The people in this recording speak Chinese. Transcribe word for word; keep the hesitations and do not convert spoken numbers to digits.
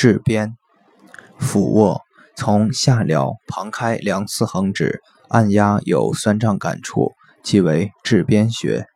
质边，俯卧，从下髎旁开两四横指，按压有酸胀感处，即为质边穴。